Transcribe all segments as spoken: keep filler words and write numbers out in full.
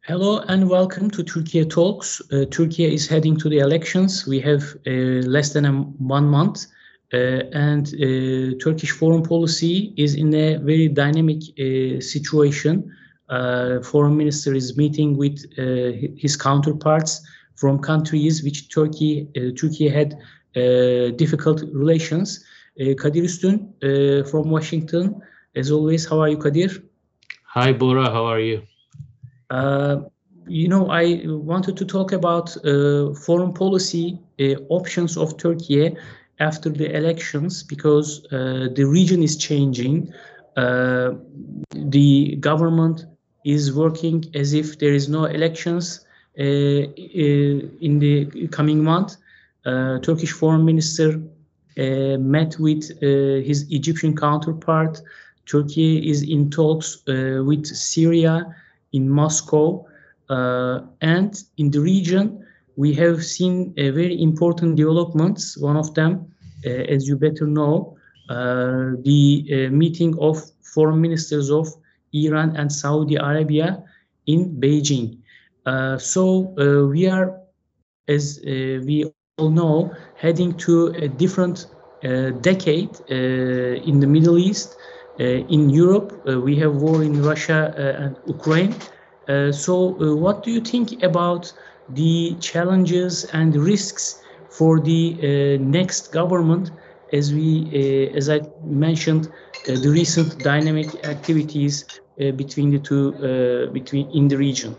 Hello and welcome to Turkey Talks. Uh, Turkey is heading to the elections. We have uh, less than a, one month, uh, and uh, Turkish foreign policy is in a very dynamic uh, situation. Uh, foreign minister is meeting with uh, his counterparts from countries which Turkey uh, Turkey had uh, difficult relations. Uh, Kadir Üstün uh, from Washington. As always, how are you, Kadir? Hi, Bora. How are you? Uh, you know, I wanted to talk about uh, foreign policy uh, options of Turkey after the elections because uh, the region is changing. Uh, the government is working as if there is no elections uh, in the coming month. Uh, Turkish foreign minister uh, met with uh, his Egyptian counterpart. Turkey is in talks uh, with Syria in Moscow, uh, and in the region we have seen a very important developments. One of them, uh, as you better know, uh, the uh, meeting of foreign ministers of Iran and Saudi Arabia in Beijing. Uh, so uh, we are, as uh, we all know, heading to a different uh, decade uh, in the Middle East. Uh, in Europe, uh, we have war in Russia uh, and Ukraine. Uh, so, uh, what do you think about the challenges and risks for the uh, next government? As we, uh, as I mentioned, uh, the recent dynamic activities uh, between the two, uh, between in the region.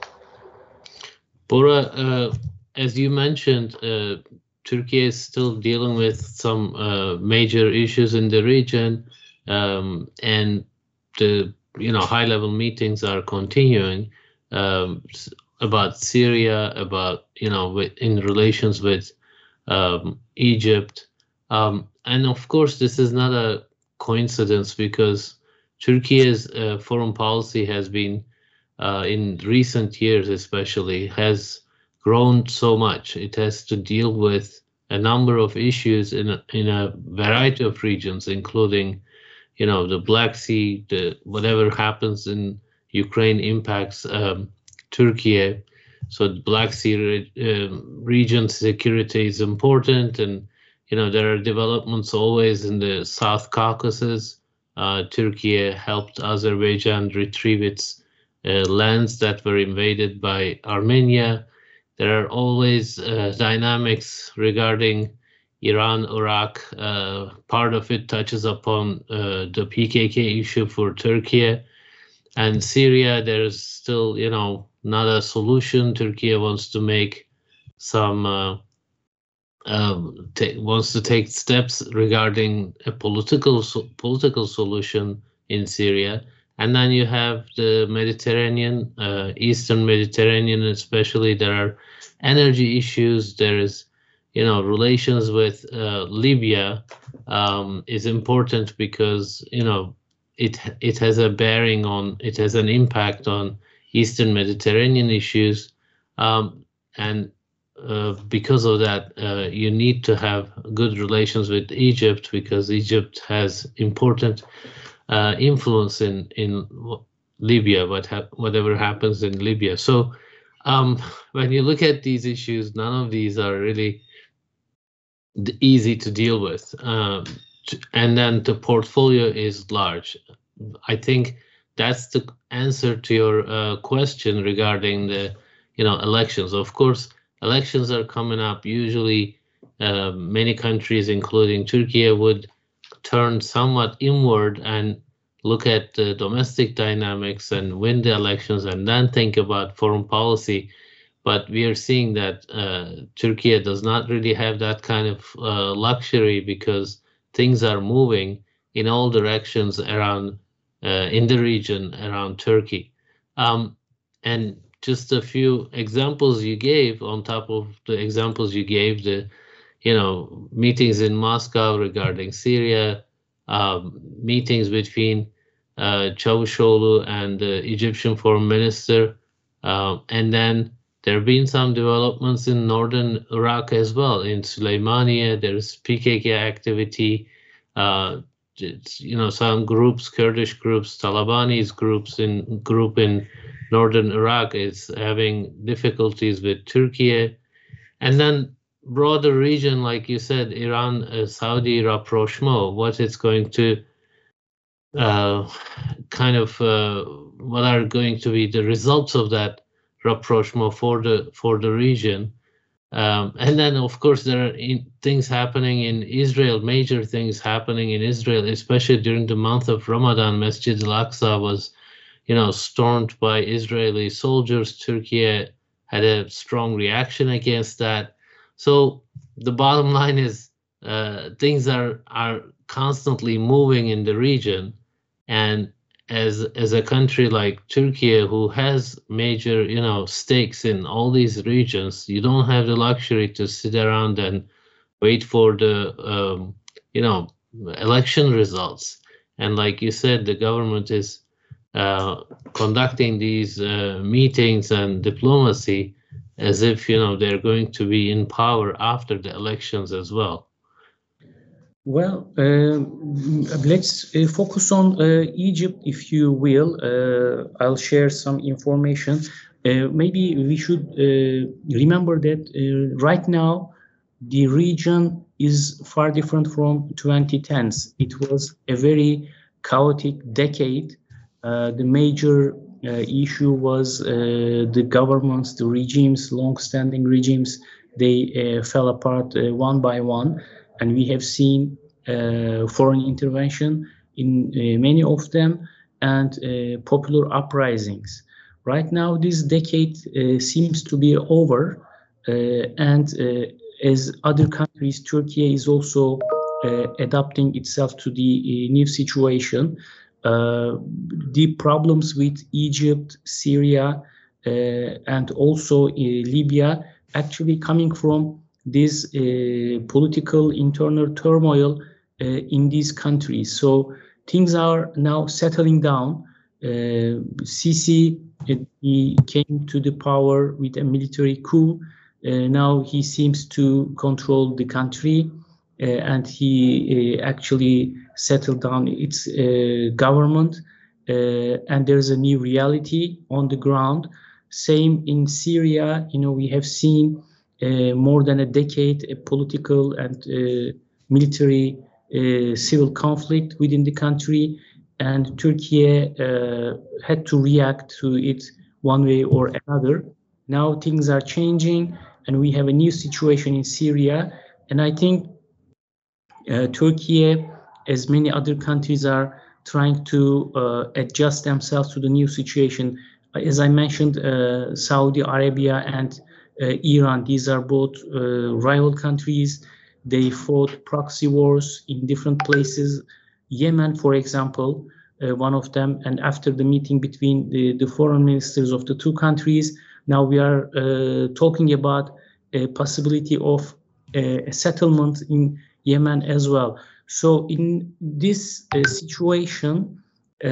Bora, uh, as you mentioned, uh, Turkey is still dealing with some uh, major issues in the region, um, and the you know high-level meetings are continuing um, about Syria, about you know with, in relations with um, Egypt, um, and of course this is not a coincidence because Turkey's uh, foreign policy has been uh, in recent years especially has grown so much. It has to deal with a number of issues in a, in a variety of regions, including, you know, the Black Sea, the whatever happens in Ukraine impacts um, Turkey. So the Black Sea re uh, region security is important, and you know there are developments always in the South Caucasus. Uh, Turkey helped Azerbaijan retrieve its uh, lands that were invaded by Armenia. There are always uh, dynamics regarding Iran, Iraq. Uh, part of it touches upon uh, the P K K issue for Turkey. And Syria, there's still, you know, not a solution. Turkey wants to make some, uh, uh, wants to take steps regarding a political so political solution in Syria. And then you have the Mediterranean, uh, Eastern Mediterranean, especially. There are energy issues. There is, you know, relations with uh, Libya um, is important because, you know, it it has a bearing on, it has an impact on Eastern Mediterranean issues. Um, and uh, because of that, uh, you need to have good relations with Egypt because Egypt has important Uh, influence in in Libya, what ha whatever happens in Libya. So um, when you look at these issues, none of these are really easy to deal with. Um, and then the portfolio is large. I think that's the answer to your uh, question regarding the you know elections. Of course, elections are coming up. Usually, uh, many countries, including Turkey, would turn somewhat inward and look at the domestic dynamics and win the elections and then think about foreign policy. But we are seeing that uh, Turkey does not really have that kind of uh, luxury because things are moving in all directions around uh, in the region around Turkey. Um, and just a few examples you gave on top of the examples you gave, the you know, meetings in Moscow regarding Syria, um, meetings between uh, Çavuşoğlu and the Egyptian foreign minister, uh, and then there have been some developments in northern Iraq as well. In Süleymaniye, there's P K K activity, uh, you know, some groups, Kurdish groups, Talibanese groups in group in northern Iraq is having difficulties with Turkey. And then broader region, like you said, Iran, uh, Saudi rapprochement, what it's going to uh, kind of, uh, what are going to be the results of that rapprochement for the for the region. Um, and then, of course, there are in, things happening in Israel, major things happening in Israel, especially during the month of Ramadan. Masjid al-Aqsa was, you know, stormed by Israeli soldiers. Turkey had a strong reaction against that. So the bottom line is uh, things are are constantly moving in the region, and as as a country like Turkey, who has major, you know, stakes in all these regions, you don't have the luxury to sit around and wait for the um, you know, election results. And like you said, the government is uh, conducting these uh, meetings and diplomacy as if, you know, they're going to be in power after the elections as well. Well, uh, let's uh, focus on uh, Egypt, if you will. Uh, I'll share some information. Uh, maybe we should uh, remember that uh, right now the region is far different from twenty tens. It was a very chaotic decade. Uh, the major uh, issue was uh, the governments, the regimes, long-standing regimes. They uh, fell apart uh, one by one. And we have seen uh, foreign intervention in uh, many of them, and uh, popular uprisings. Right now, this decade uh, seems to be over, uh, and uh, as other countries, Turkey is also uh, adapting itself to the uh, new situation. Uh, the problems with Egypt, Syria, uh, and also uh, Libya actually coming from this uh, political internal turmoil uh, in these countries. So things are now settling down. Uh, Sisi, uh, he came to the power with a military coup. Uh, now he seems to control the country, uh, and he uh, actually settled down its uh, government. Uh, and there's a new reality on the ground. Same in Syria. You know, we have seen Uh, more than a decade, a political and uh, military uh, civil conflict within the country, and Turkey uh, had to react to it one way or another. Now things are changing, and we have a new situation in Syria, and I think uh, Turkey, as many other countries, are trying to uh, adjust themselves to the new situation. As I mentioned, uh, Saudi Arabia and Uh, Iran, these are both uh, rival countries. They fought proxy wars in different places. Yemen, for example, uh, one of them, and after the meeting between the, the foreign ministers of the two countries, now we are uh, talking about a possibility of a, a settlement in Yemen as well. So in this uh, situation, uh,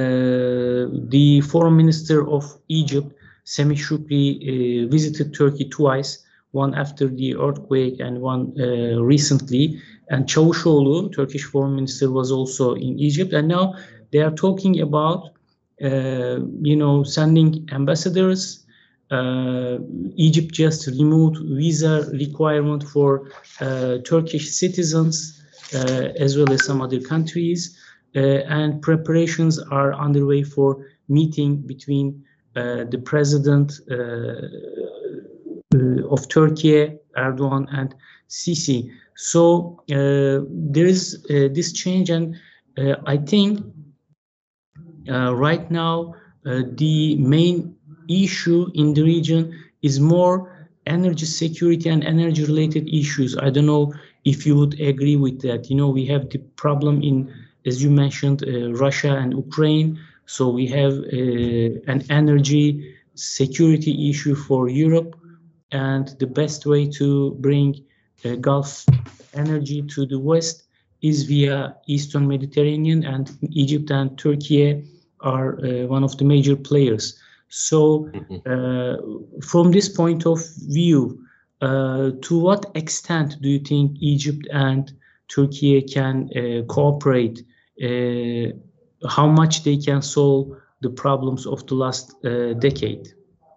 the foreign minister of Egypt, Semih Shukri, uh, visited Turkey twice, one after the earthquake and one uh, recently. And Çavuşoğlu, Turkish foreign minister, was also in Egypt. And now they are talking about, uh, you know, sending ambassadors. Uh, Egypt just removed visa requirement for uh, Turkish citizens, uh, as well as some other countries. Uh, and preparations are underway for meeting between Uh, the president uh, uh, of Turkey, Erdogan, and Sisi. So uh, there is uh, this change, and uh, I think uh, right now uh, the main issue in the region is more energy security and energy related issues. I don't know if you would agree with that. You know, we have the problem in, as you mentioned, uh, Russia and Ukraine. So we have uh, an energy security issue for Europe, and the best way to bring uh, Gulf energy to the West is via Eastern Mediterranean, and Egypt and Turkey are uh, one of the major players. So uh, from this point of view, uh, to what extent do you think Egypt and Turkey can uh, cooperate? Uh, how much they can solve the problems of the last uh, decade?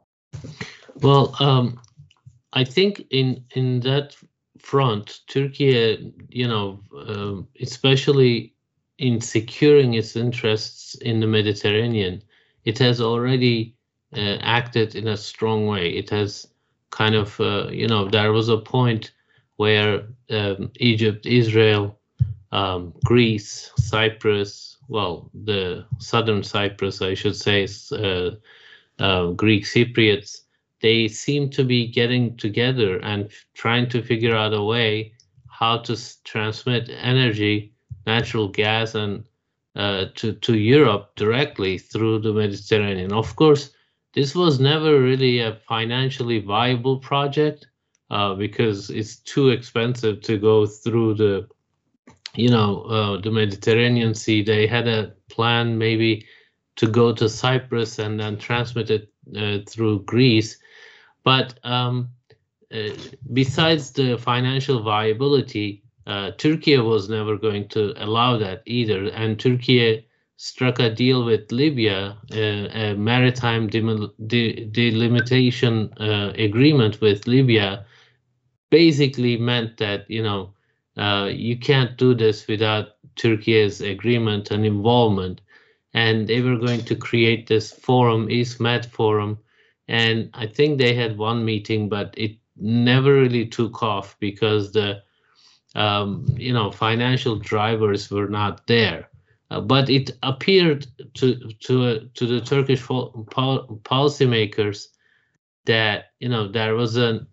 Well, um, I think in in that front, Turkey, you know, um, especially in securing its interests in the Mediterranean, it has already uh, acted in a strong way. It has kind of, uh, you know, there was a point where um, Egypt, Israel, um, Greece, Cyprus, well, the southern Cyprus, I should say, uh, uh, Greek Cypriots, they seem to be getting together and trying to figure out a way how to transmit energy, natural gas, and uh, to, to Europe directly through the Mediterranean. Of course, this was never really a financially viable project uh, because it's too expensive to go through the, you know, uh, the Mediterranean Sea. They had a plan maybe to go to Cyprus and then transmit it uh, through Greece. But um, uh, besides the financial viability, uh, Turkey was never going to allow that either. And Turkey struck a deal with Libya, uh, a maritime de delimitation uh, agreement with Libya, basically meant that, you know, uh, you can't do this without Turkey's agreement and involvement. And they were going to create this forum, East Med Forum. And I think they had one meeting, but it never really took off because the, um, you know, financial drivers were not there. Uh, but it appeared to to uh, to the Turkish pol policymakers that, you know, there was an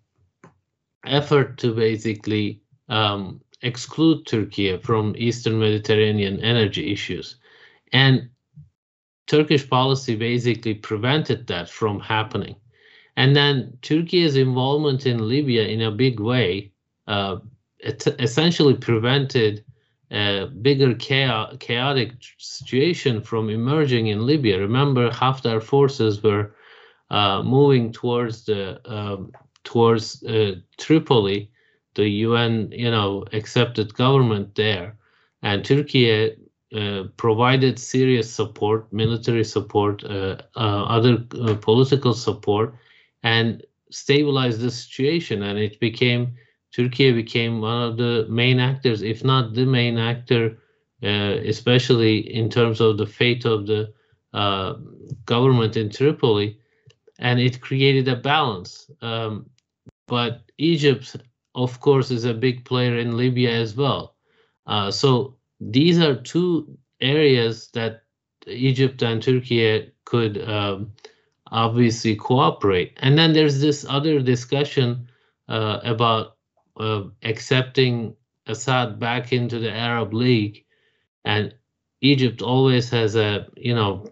effort to basically um, exclude Turkey from Eastern Mediterranean energy issues, and Turkish policy basically prevented that from happening. And then Turkey's involvement in Libya in a big way uh, essentially prevented a bigger chaos, chaotic situation from emerging in Libya. Remember, Haftar forces were uh, moving towards the um, towards uh, Tripoli, the U N, you know, accepted government there, and Turkey Uh, provided serious support, military support, uh, uh, other uh, political support, and stabilized the situation. And it became, Turkey became one of the main actors, if not the main actor, uh, especially in terms of the fate of the uh, government in Tripoli. And it created a balance. Um, but Egypt, of course, is a big player in Libya as well. Uh, so these are two areas that Egypt and Turkey could um, obviously cooperate. And then there's this other discussion uh, about uh, accepting Assad back into the Arab League. And Egypt always has a, you know,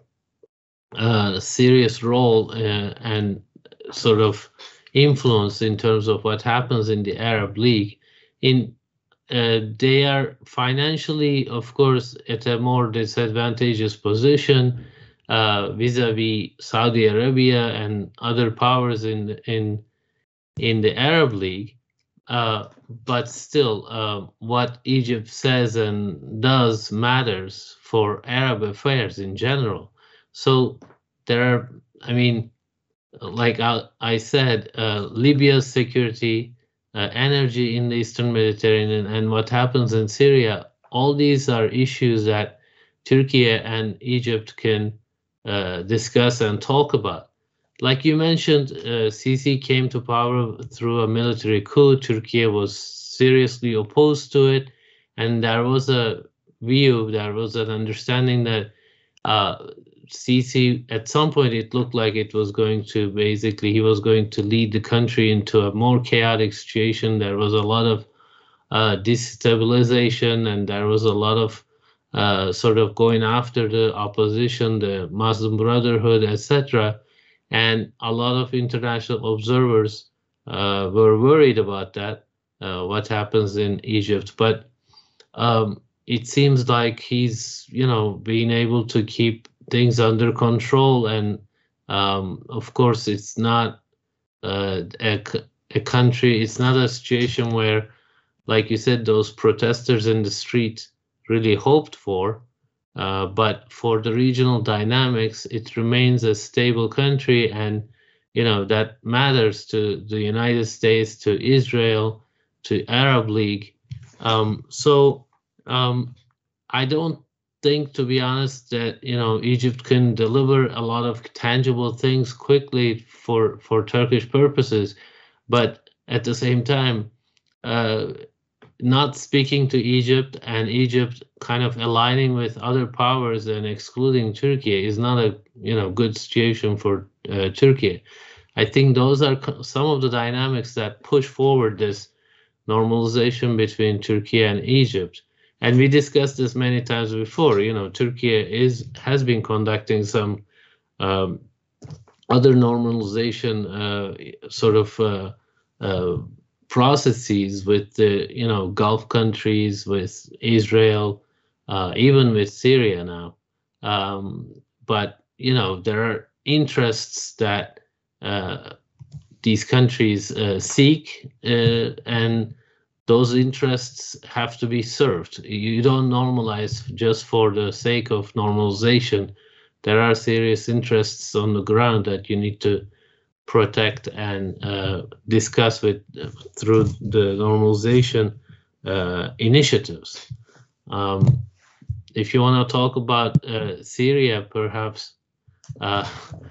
a serious role uh, and sort of influence in terms of what happens in the Arab League. In Uh, they are financially, of course, at a more disadvantageous position uh, vis-a-vis Saudi Arabia and other powers in in in the Arab League. Uh, but still, uh, what Egypt says and does matters for Arab affairs in general. So there are, I mean, like I, I said, uh, Libya's security, Uh, energy in the Eastern Mediterranean, and what happens in Syria, all these are issues that Turkey and Egypt can uh, discuss and talk about. Like you mentioned, uh, Sisi came to power through a military coup. Turkey was seriously opposed to it, and there was a view, there was an understanding that uh, Sisi, at some point, it looked like it was going to basically, he was going to lead the country into a more chaotic situation. There was a lot of uh, destabilization, and there was a lot of uh, sort of going after the opposition, the Muslim Brotherhood, et cetera. And a lot of international observers uh, were worried about that, uh, what happens in Egypt. But um, it seems like he's, you know, being able to keep things under control. And um, of course, it's not uh, a, a country, it's not a situation where, like you said, those protesters in the street really hoped for. Uh, but for the regional dynamics, it remains a stable country, and you know that matters to the United States, to Israel, to Arab League. Um, so um, I don't think, to be honest, that you know Egypt can deliver a lot of tangible things quickly for for Turkish purposes, but at the same time, uh, not speaking to Egypt and Egypt kind of aligning with other powers and excluding Turkey is not a you know good situation for uh, Turkey. I think those are some of the dynamics that push forward this normalization between Turkey and Egypt. And we discussed this many times before. You know, Turkey is has been conducting some um, other normalization uh, sort of uh, uh, processes with the you know Gulf countries, with Israel, uh, even with Syria now. Um, but you know there are interests that uh, these countries uh, seek, uh, and those interests have to be served. You don't normalize just for the sake of normalization. There are serious interests on the ground that you need to protect and uh, discuss with uh, through the normalization uh, initiatives. Um, if you want to talk about uh, Syria, perhaps uh,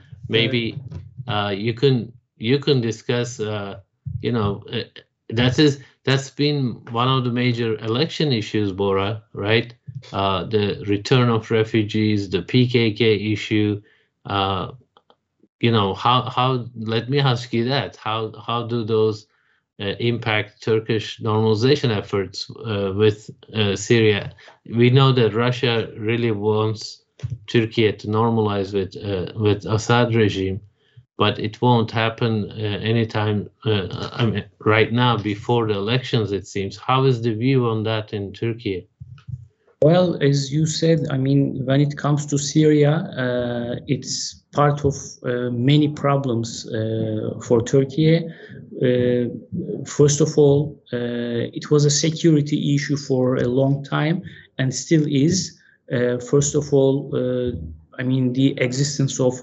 maybe uh, you can you can discuss. Uh, you know, uh, that is that's been one of the major election issues, Bora, right? Uh, the return of refugees, the P K K issue. Uh, you know, how how let me ask you that. How how do those uh, impact Turkish normalization efforts uh, with uh, Syria? We know that Russia really wants Turkey to normalize with uh, with Assad regime, but it won't happen uh, anytime uh, I mean, right now before the elections, it seems. How is the view on that in Turkey? Well, as you said, I mean, when it comes to Syria, uh, it's part of uh, many problems uh, for Turkey. Uh, first of all, uh, it was a security issue for a long time and still is. Uh, first of all, uh, I mean, the existence of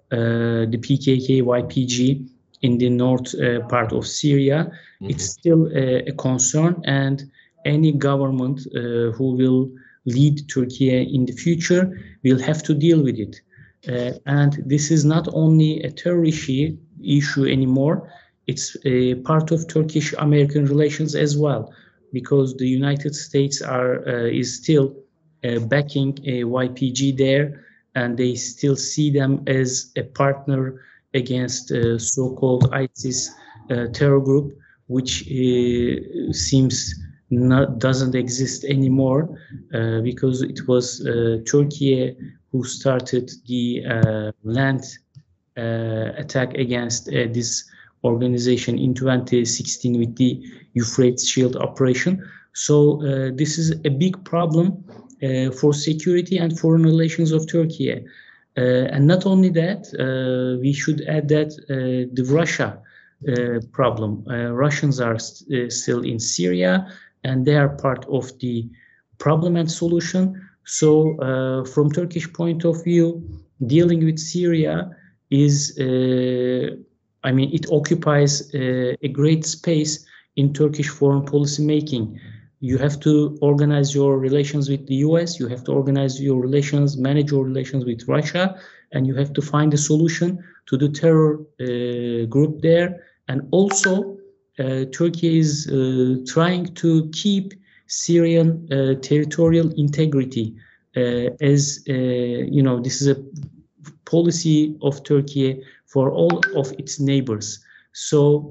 uh, the P K K Y P G in the north uh, part of Syria, mm-hmm. It's still a, a concern, and any government uh, who will lead Turkey in the future will have to deal with it. Uh, and this is not only a terrorist issue anymore, it's a part of Turkish-American relations as well, because the United States are uh, is still uh, backing a Y P G there, and they still see them as a partner against uh, so-called ISIS uh, terror group, which uh, seems Not, doesn't exist anymore uh, because it was uh, Turkey who started the uh, land uh, attack against uh, this organization in twenty sixteen with the Euphrates Shield operation. So uh, this is a big problem uh, for security and foreign relations of Turkey. Uh, and not only that, uh, we should add that uh, the Russia uh, problem. Uh, Russians are st uh, still in Syria, and they are part of the problem and solution. So uh, from Turkish point of view, dealing with Syria is, uh, I mean, it occupies uh, a great space in Turkish foreign policy making. You have to organize your relations with the U S, you have to organize your relations, manage your relations with Russia, and you have to find a solution to the terror uh, group there. And also, Uh, Turkey is uh, trying to keep Syrian uh, territorial integrity uh, as, uh, you know, this is a policy of Turkey for all of its neighbors. So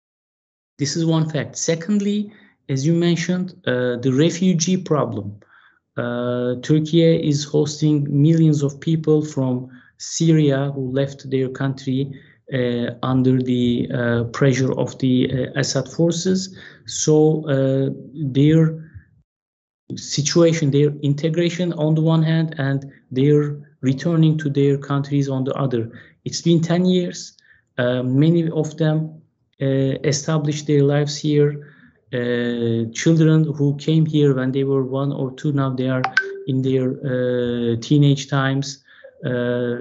this is one fact. Secondly, as you mentioned, uh, the refugee problem. Uh, Turkey is hosting millions of people from Syria who left their country Uh, under the uh, pressure of the uh, Assad forces. So uh, their situation, their integration on the one hand, and their returning to their countries on the other. It's been ten years. Uh, many of them uh, established their lives here. Uh, children who came here when they were one or two, now they are in their uh, teenage times, uh,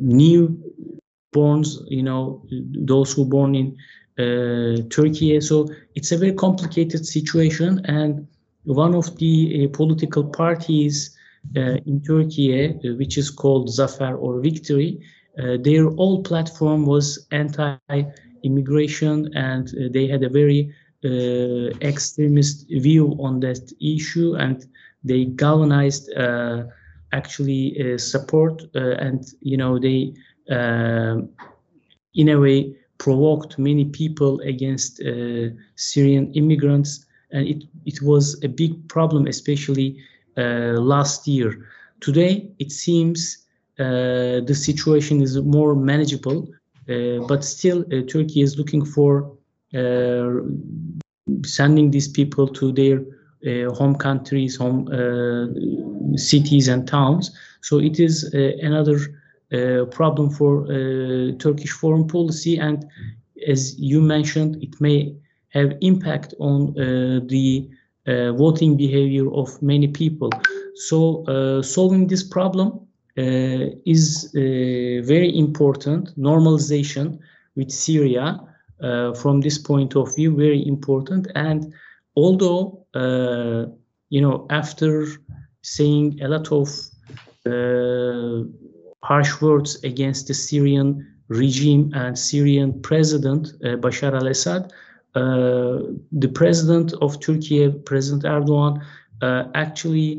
newborns, you know, those who born in uh, Turkey. So it's a very complicated situation, and one of the uh, political parties uh, in Turkey, uh, which is called Zafer or Victory, uh, their whole platform was anti-immigration, and uh, they had a very uh, extremist view on that issue, and they galvanized uh, actually uh, support, uh, and you know they uh, in a way provoked many people against uh, Syrian immigrants, and it it was a big problem, especially uh, last year. Today, it seems uh, the situation is more manageable, uh, but still, uh, Turkey is looking for uh, sending these people to their uh, home countries, home uh, cities and towns. So it is uh, another uh, problem for uh, Turkish foreign policy, and as you mentioned, it may have impact on uh, the uh, voting behavior of many people. So uh, solving this problem uh, is uh, very important. Normalization with Syria, uh, from this point of view, very important. And although, uh, you know, after saying a lot of uh, harsh words against the Syrian regime and Syrian president, uh, Bashar al-Assad, uh, the president of Turkey, President Erdogan, uh, actually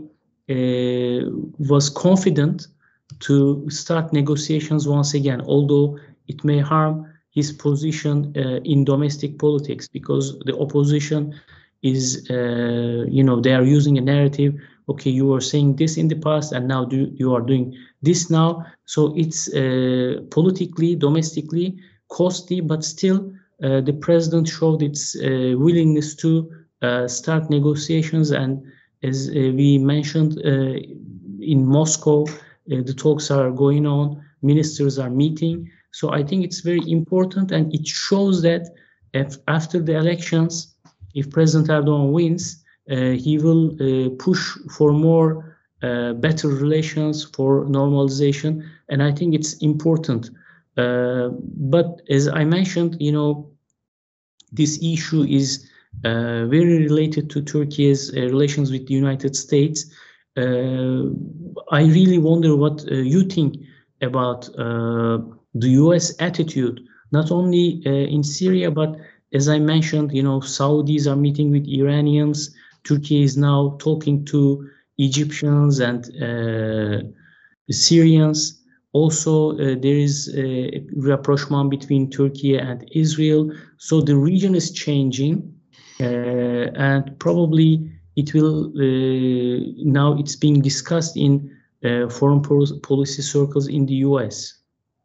uh, was confident to start negotiations once again, although it may harm his position uh, in domestic politics, because the opposition is, uh, you know, they are using a narrative. Okay, you were saying this in the past, and now do, you are doing this now. So it's uh, politically, domestically costly, but still uh, the president showed its uh, willingness to uh, start negotiations. And as uh, we mentioned, uh, in Moscow, uh, the talks are going on, ministers are meeting. So I think it's very important, and it shows that if after the elections, if President Erdogan wins, uh, he will uh, push for more uh, better relations, for normalization, and I think it's important. Uh, but as I mentioned, you know, this issue is uh, very related to Turkey's uh, relations with the United States. Uh, I really wonder what uh, you think about uh, the U S attitude, not only uh, in Syria, but as I mentioned, you know, Saudis are meeting with Iranians. Turkey is now talking to Egyptians and uh, Syrians. Also, uh, there is a rapprochement between Turkey and Israel. So the region is changing, uh, and probably it will, uh, now it's being discussed in uh, foreign policy circles in the U S.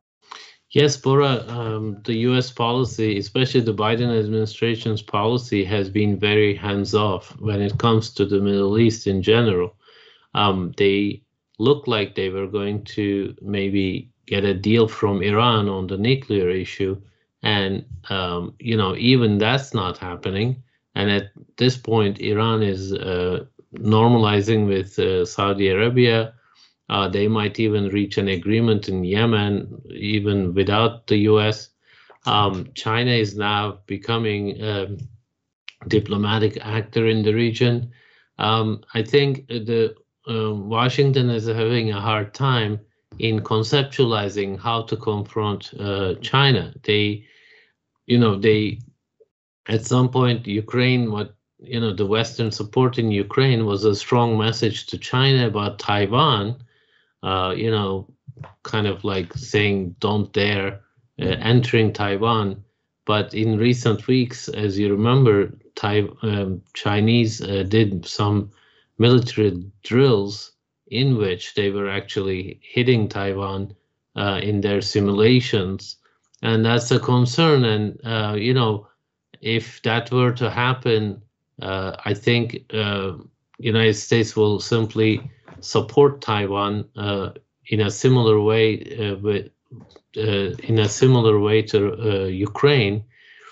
Yes, Bora, um, the U S policy, especially the Biden administration's policy, has been very hands-off when it comes to the Middle East in general. Um, they look like they were going to maybe get a deal from Iran on the nuclear issue. And, um, you know, even that's not happening. And at this point, Iran is uh, normalizing with uh, Saudi Arabia. Uh, they might even reach an agreement in Yemen, even without the U S. Um, China is now becoming a diplomatic actor in the region. Um, I think the uh, Washington is having a hard time in conceptualizing how to confront uh, China. They, you know, they, at some point, Ukraine, what, you know, the Western support in Ukraine was a strong message to China about Taiwan. Uh, you know, kind of like saying, don't dare uh, entering Taiwan. But in recent weeks, as you remember, Thai, um, Chinese uh, did some military drills in which they were actually hitting Taiwan uh, in their simulations. And that's a concern. And, uh, you know, if that were to happen, uh, I think uh, United States will simply support Taiwan uh, in a similar way, uh, with, uh, in a similar way to uh, Ukraine,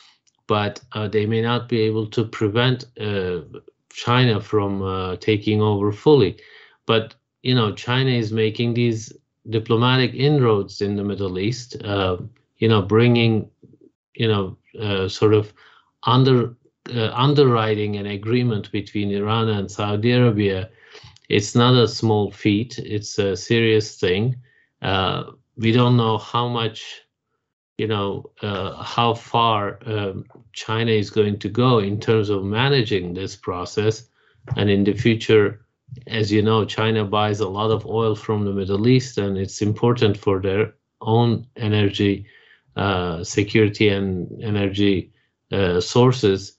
but uh, they may not be able to prevent uh, China from uh, taking over fully. But you know, China is making these diplomatic inroads in the Middle East, uh, you know, bringing, you know, uh, sort of under uh, underwriting an agreement between Iran and Saudi Arabia. It's not a small feat. It's a serious thing. Uh, we don't know how much, you know, uh, how far um, China is going to go in terms of managing this process. And in the future, as you know, China buys a lot of oil from the Middle East, and it's important for their own energy uh, security and energy uh, sources.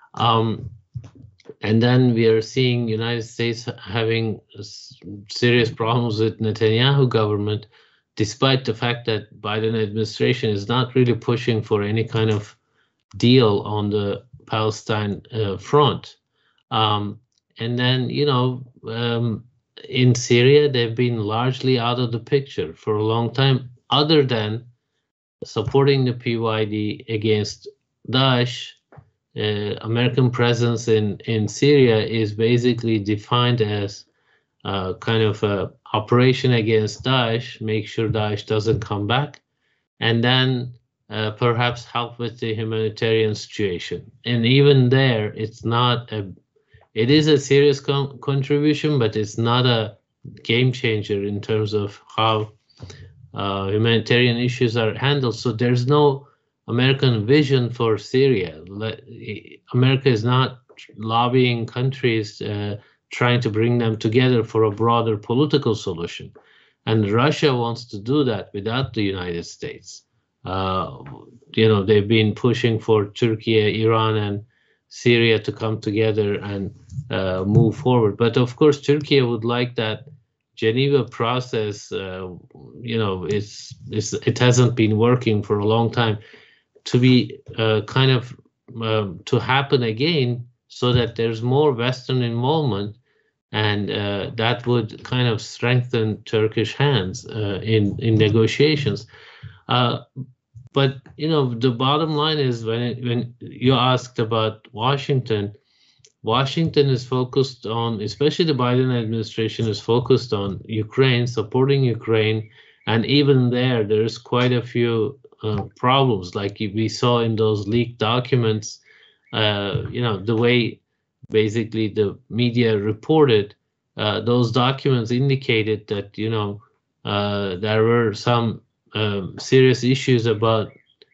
Um, and then we are seeing United States having serious problems with Netanyahu government, despite the fact that Biden administration is not really pushing for any kind of deal on the Palestine uh, front. Um, and then, you know, um, in Syria, they've been largely out of the picture for a long time, other than supporting the P Y D against Daesh. Uh, American presence in, in Syria is basically defined as uh, kind of a operation against Daesh, make sure Daesh doesn't come back, and then uh, perhaps help with the humanitarian situation. And even there, it's not a, it is a serious con contribution, but it's not a game changer in terms of how uh, humanitarian issues are handled. So there's no American vision for Syria. America is not lobbying countries, uh, trying to bring them together for a broader political solution. And Russia wants to do that without the United States. Uh, you know, they've been pushing for Turkey, Iran, and Syria to come together and uh, move forward. But of course, Turkey would like that Geneva process, uh, you know, it's, it's, it hasn't been working for a long time, to be uh, kind of um, to happen again, so that there's more Western involvement, and uh, that would kind of strengthen Turkish hands uh, in in negotiations. Uh, but you know, the bottom line is, when it, when you asked about Washington, Washington is focused on, especially the Biden administration is focused on Ukraine, supporting Ukraine, and even there, there's quite a few Uh, problems, like we saw in those leaked documents. Uh, you know, the way basically the media reported, uh, those documents indicated that, you know, uh, there were some um, serious issues about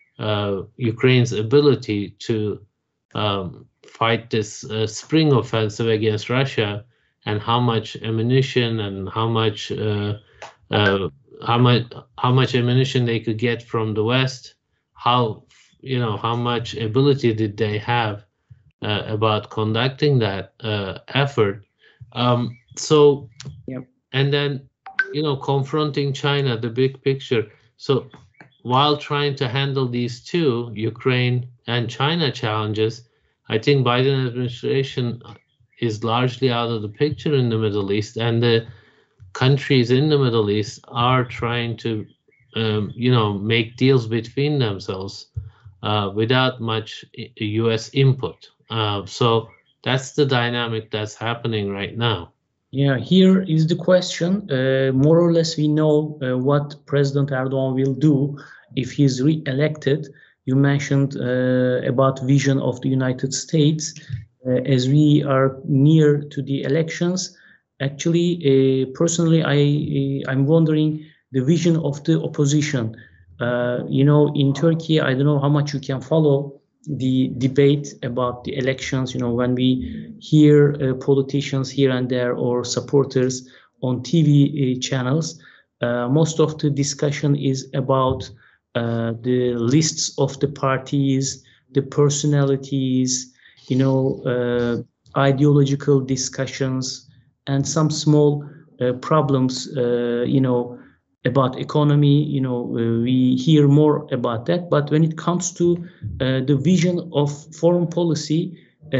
uh, Ukraine's ability to um, fight this uh, spring offensive against Russia, and how much ammunition and how much uh, uh, how much how much ammunition they could get from the West, how, you know, how much ability did they have uh, about conducting that uh, effort. Um, so, yep. And then, you know, confronting China, the big picture. So while trying to handle these two, Ukraine and China challenges, I think Biden administration is largely out of the picture in the Middle East, and the countries in the Middle East are trying to, um, you know, make deals between themselves uh, without much U S input. Uh, so that's the dynamic that's happening right now. Yeah, here is the question. Uh, more or less, we know uh, what President Erdogan will do if he's re-elected. You mentioned uh, about vision of the United States. Uh, as we are near to the elections, actually, uh, personally, I, uh, I'm wondering the vision of the opposition. Uh, you know, in Turkey, I don't know how much you can follow the debate about the elections. You know, when we hear uh, politicians here and there or supporters on T V uh, channels, uh, most of the discussion is about uh, the lists of the parties, the personalities, you know, uh, ideological discussions, and some small uh, problems, uh, you know, about economy. You know, uh, we hear more about that. But when it comes to uh, the vision of foreign policy, uh,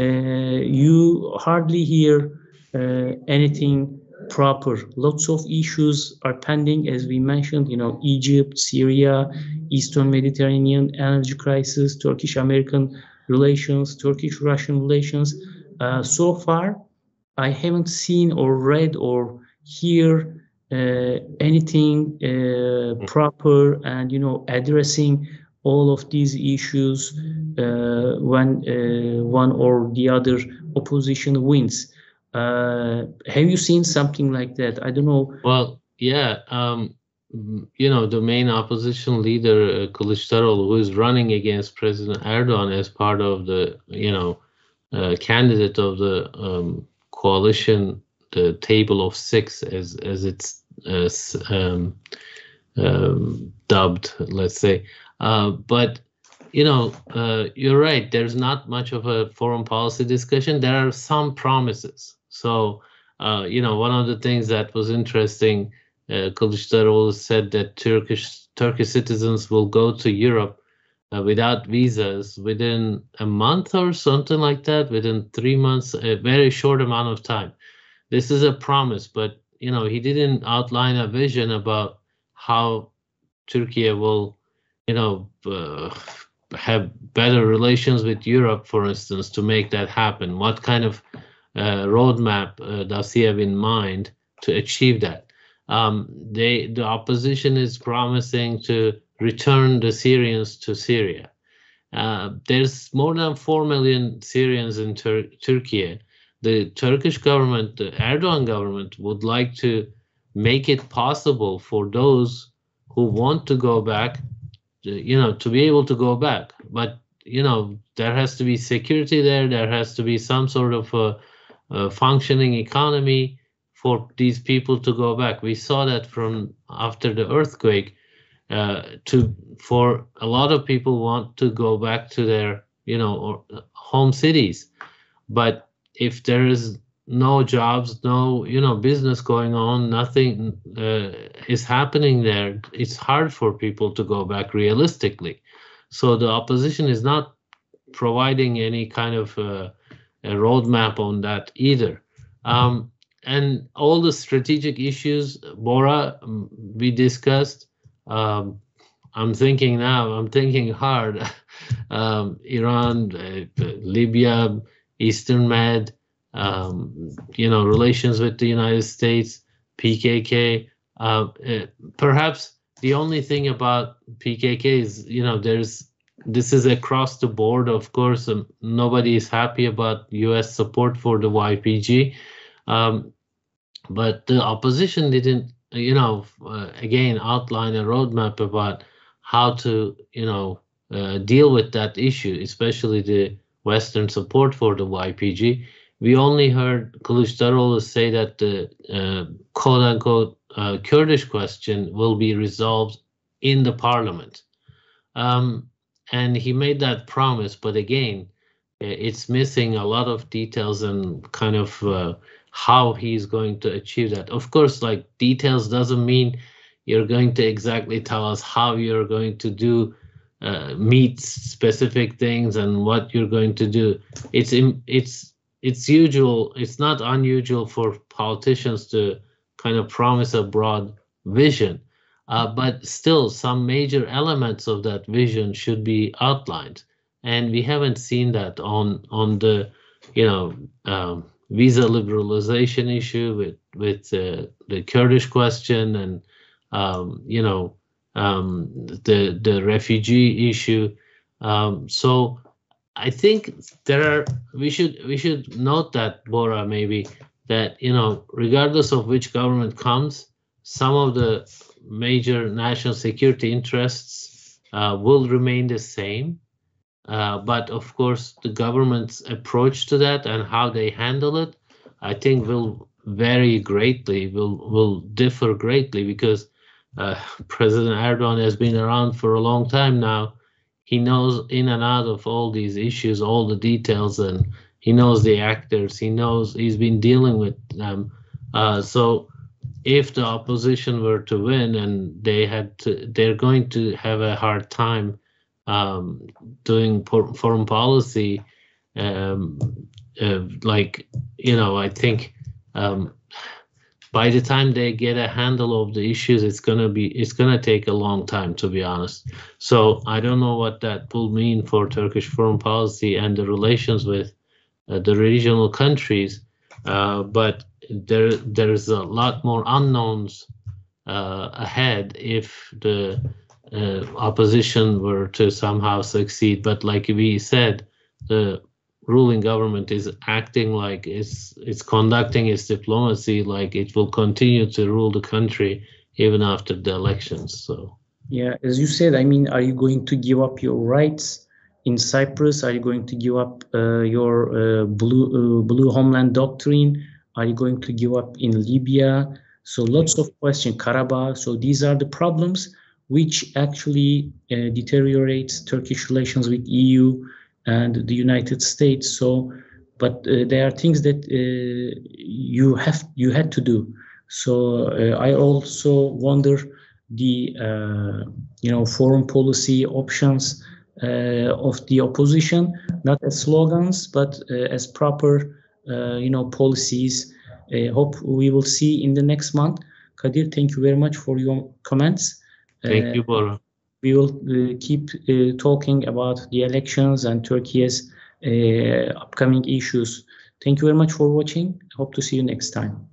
you hardly hear uh, anything proper. Lots of issues are pending, as we mentioned, you know, Egypt, Syria, Eastern Mediterranean energy crisis, Turkish-American relations, Turkish-Russian relations. Uh, so far, I haven't seen or read or hear uh, anything uh, proper and, you know, addressing all of these issues uh, when uh, one or the other opposition wins. Uh, have you seen something like that? I don't know. Well, yeah, um, you know, the main opposition leader, uh, Kılıçdaroğlu, who is running against President Erdogan as part of the, you know, uh, candidate of the um, coalition, the table of six, as as it's uh, um, um, dubbed, let's say. Uh, but you know, uh, you're right. There's not much of a foreign policy discussion. There are some promises. So, uh, you know, one of the things that was interesting, uh, Kılıçdaroğlu said that Turkish Turkish citizens will go to Europe uh, without visas within a month or something like that, within three months, a very short amount of time. This is a promise, but, you know, he didn't outline a vision about how Turkey will, you know, uh, have better relations with Europe, for instance, to make that happen. What kind of uh, roadmap uh, does he have in mind to achieve that? Um, they, the opposition is promising to return the Syrians to Syria. Uh, there's more than four million Syrians in Tur Turkey. The Turkish government, the Erdogan government, would like to make it possible for those who want to go back, you know, to be able to go back. But, you know, there has to be security there. There has to be some sort of a, a functioning economy for these people to go back. We saw that from after the earthquake. Uh, to for a lot of people want to go back to their, you know, or, uh, home cities. But if there is no jobs, no, you know, business going on, nothing uh, is happening there, it's hard for people to go back realistically. So the opposition is not providing any kind of uh, a roadmap on that either. Um, and all the strategic issues, Bora, we discussed. Um, I'm thinking now, I'm thinking hard. um, Iran, uh, Libya, Eastern Med, um, you know, relations with the United States, P K K. Uh, uh, perhaps the only thing about P K K is, you know, there's this is across the board. Of course, um, nobody is happy about U S support for the Y P G, um, but the opposition didn't, you know, uh, again outline a roadmap about how to, you know, uh, deal with that issue, especially the Western support for the Y P G. We only heard Kılıçdaroğlu say that the uh, quote-unquote uh, Kurdish question will be resolved in the parliament. Um, and he made that promise, but again, it's missing a lot of details and kind of uh, how he's going to achieve that. Of course, like, details doesn't mean you're going to exactly tell us how you're going to do uh, meet specific things and what you're going to do. It's in, it's it's usual. It's not unusual for politicians to kind of promise a broad vision, uh, but still some major elements of that vision should be outlined, and we haven't seen that on on the, you know, um, visa liberalization issue with with uh, the Kurdish question, and um, you know, um, the the refugee issue. Um, so I think there are we should we should note that, Bora, maybe that, you know, regardless of which government comes, some of the major national security interests uh, will remain the same. Uh, but of course, the government's approach to that and how they handle it, I think, will vary greatly, will will differ greatly, because uh, President Erdogan has been around for a long time now. He knows in and out of all these issues, all the details, and he knows the actors. He knows, he's been dealing with them. Uh, so if the opposition were to win, and they had to, they're going to have a hard time um, doing foreign policy. Um, uh, like, you know, I think um, by the time they get a handle of the issues, it's gonna be it's gonna take a long time, to be honest. So I don't know what that will mean for Turkish foreign policy and the relations with uh, the regional countries. uh, but there there's a lot more unknowns uh, ahead if the uh, opposition were to somehow succeed. But like we said, the ruling government is acting like it's it's conducting its diplomacy like it will continue to rule the country even after the elections. So yeah, as you said, I mean, are you going to give up your rights in Cyprus? Are you going to give up uh, your uh, blue uh, blue homeland doctrine? Are you going to give up in Libya? So lots of questions, Karabakh. So these are the problems which actually uh, deteriorates Turkish relations with E U and the United States. So, but uh, there are things that uh, you have you had to do. So uh, I also wonder the uh, you know foreign policy options uh, of the opposition, not as slogans, but uh, as proper uh, you know policies. I hope we will see in the next month. Kadir, thank you very much for your comments. thank Uh, you, Bora. we will uh, keep uh, talking about the elections and Turkey's uh, upcoming issues. Thank you very much for watching. I hope to see you next time.